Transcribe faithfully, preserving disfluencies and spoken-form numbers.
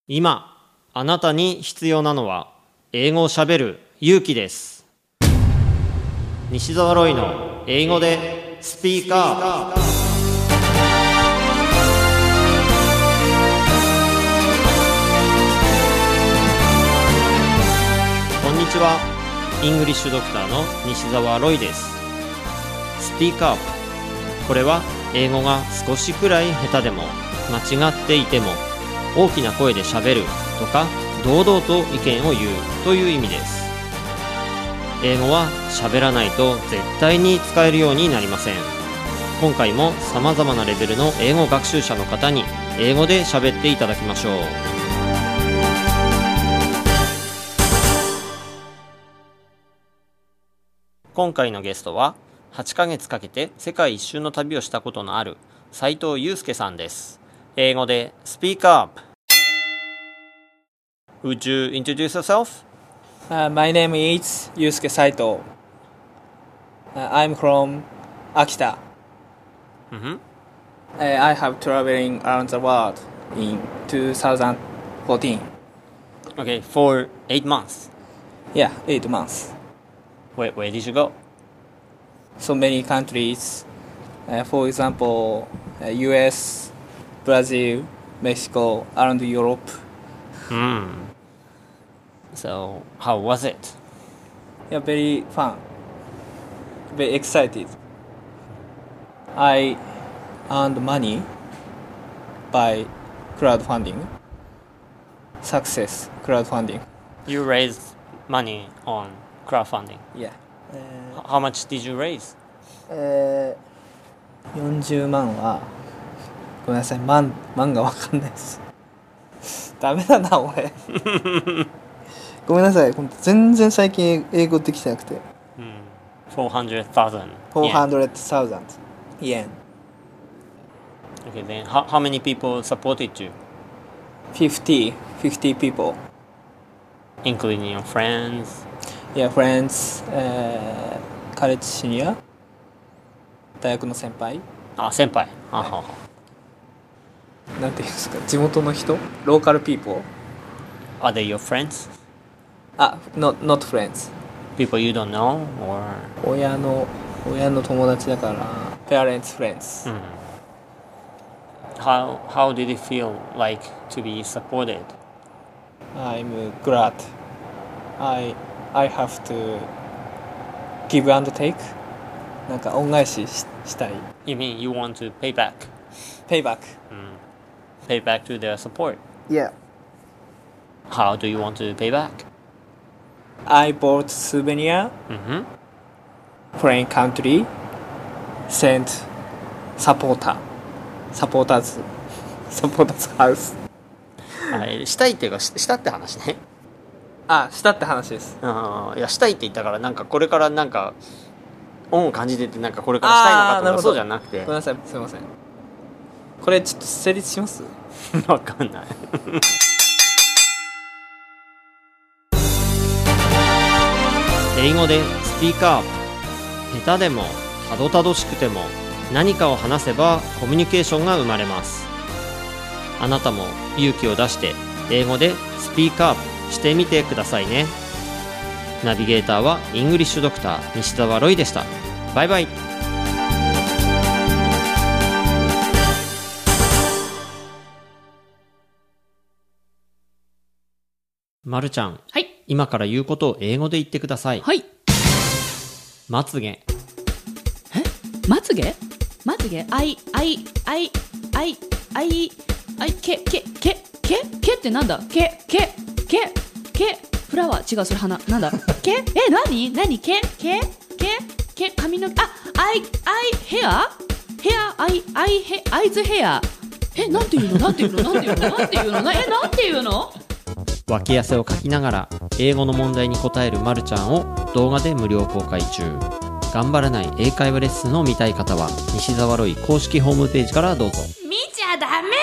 今あなたに必要なのは英語をしゃべる勇気です。西澤ロイの英語でスピーカー。こんにちは。イングリッシュドクターの西澤ロイです。スピーカー。これは英語が少しくらい下手でも間違っていても大きな声でしゃべるとか堂々と意見を言うという意味です。英語はしゃべらないと絶対に使えるようになりません。今回もさまざまなレベルの英語学習者の方に英語でしゃべっていただきましょう。今回のゲストははちかげつかけて世界一周の旅をしたことのある斉藤祐介さんです。英語で Speak Up。 Would you introduce yourself?、uh, My name is Yusuke Saito、uh, I'm from Akita、mm-hmm. uh, I have traveling around the world in twenty fourteen. Okay, for eight months? Yeah, eight months. Where, where did you go? So many countries、uh, For example、uh, U S, Brazil, Mexico, around Europe. Hmm. So, how was it? Yeah, very fun. Very excited. I earned money by crowdfunding. Success crowdfunding. You raised money on crowdfunding? Yeah. Uh, how much did you raise? Uh, よんじゅうまんはごめんなさい、万、万が分かんないですダメだな俺ごめんなさい、全然最近英語できてなくて、 うん、four hundred thousand four hundred thousand yen. Okay, then how, how many people supported you? fifty, fifty people. Including your friends? Yeah, friends, uh, カレッジシニア大学の先輩。 あ、先輩。ははは。 なんていうんですか、地元の人、ローカルピーポー。 Are they your friends? あ、not not friends. People you don't know or? 親の親の友達だから、parents friends. うん。How how did it feel like to be supported? I'm glad. I I have to give and take. なんか恩返し し, したい。 You mean you want to pay back? Pay back. うん。Pay back to their support. Yeah. How do you want to pay back? I bought souvenir. Mm-hmm. Foreign country. Sent supporter. Supporters. Supporters house. あれしたいっていうか し, したって話ね。 あ、したって話です。 あいやしたいって言ったからなんかこれからなんか恩を感じててなんかこれからしたいのかとかそうじゃなくて。 ごめんなさい、すいません。これちょっと成立しますわかんない英語でスピーカー。下手でもたどたどしくても何かを話せばコミュニケーションが生まれます。あなたも勇気を出して英語でスピーカーしてみてくださいね。ナビゲーターはイングリッシュドクター西澤ロイでした。バイバイ。まるちゃん、 はい、 今から言うことを英語で言ってください。 はい。 まつげ。 え？まつげ？まつげ？あいあいあいあいあいあいけけけけけってなんだ？けけけけフラワー違うそれ花なんだ？けえ何何けけけけ髪の毛あアイアイヘアヘアアイアイヘアイズヘアえなんていうのなんていうのなんていうのなんていうのなえなんていうの脇汗をかきながら英語の問題に答えるまるちゃんを動画で無料公開中。頑張らない英会話レッスンを見たい方は西澤ロイ公式ホームページからどうぞ。 見ちゃダメ